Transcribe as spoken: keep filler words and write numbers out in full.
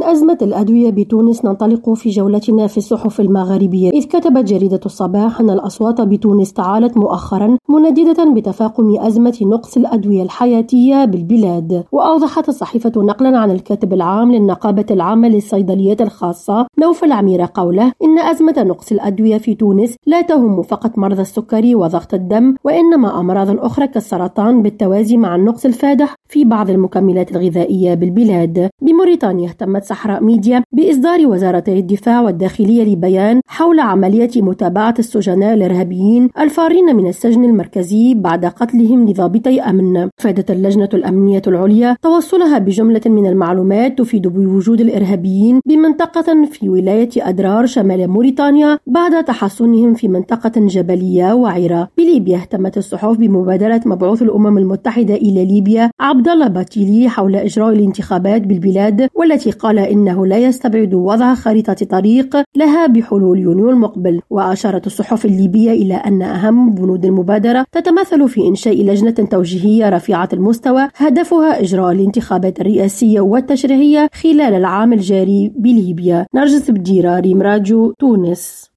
أزمة الأدوية بتونس ننطلق في جولتنا في الصحف المغاربية، إذ كتبت جريدة الصباح أن الأصوات بتونس تعالت مؤخرا منددة بتفاقم أزمة نقص الأدوية الحياتية بالبلاد. وأوضحت الصحيفة نقلا عن الكاتب العام للنقابة العامة للصيدليات الخاصة نوفل عميرة قوله إن أزمة نقص الأدوية في تونس لا تهم فقط مرضى السكري وضغط الدم، وإنما أمراض أخرى كالسرطان بالتوازي مع النقص الفادح في بعض المكملات الغذائية بالبلاد. بموريتانيا اهتمت صحراء ميديا بإصدار وزارتي الدفاع والداخلية لبيان حول عملية متابعة السجناء الإرهابيين الفارين من السجن المركزي بعد قتلهم لضابطي أمن. فادت اللجنة الأمنية العليا توصلها بجملة من المعلومات تفيد بوجود الإرهابيين بمنطقة في ولاية أدرار شمال موريتانيا بعد تحصنهم في منطقة جبلية وعرة. بليبيا اهتمت الصحف بمبادرة مبعوث الأمم المتحدة إلى ليبيا عبد الله باتيلي حول إجراء الانتخابات بالبلاد، والتي قال إنه لا يستبعد وضع خريطة طريق لها بحلول يونيو المقبل. وأشارت الصحف الليبية إلى أن أهم بنود المبادرة تتمثل في إنشاء لجنة توجيهية رفيعة المستوى هدفها إجراء الانتخابات الرئاسية والتشريعية خلال العام الجاري بليبيا. نرجس بديرة، ريم راديو، تونس.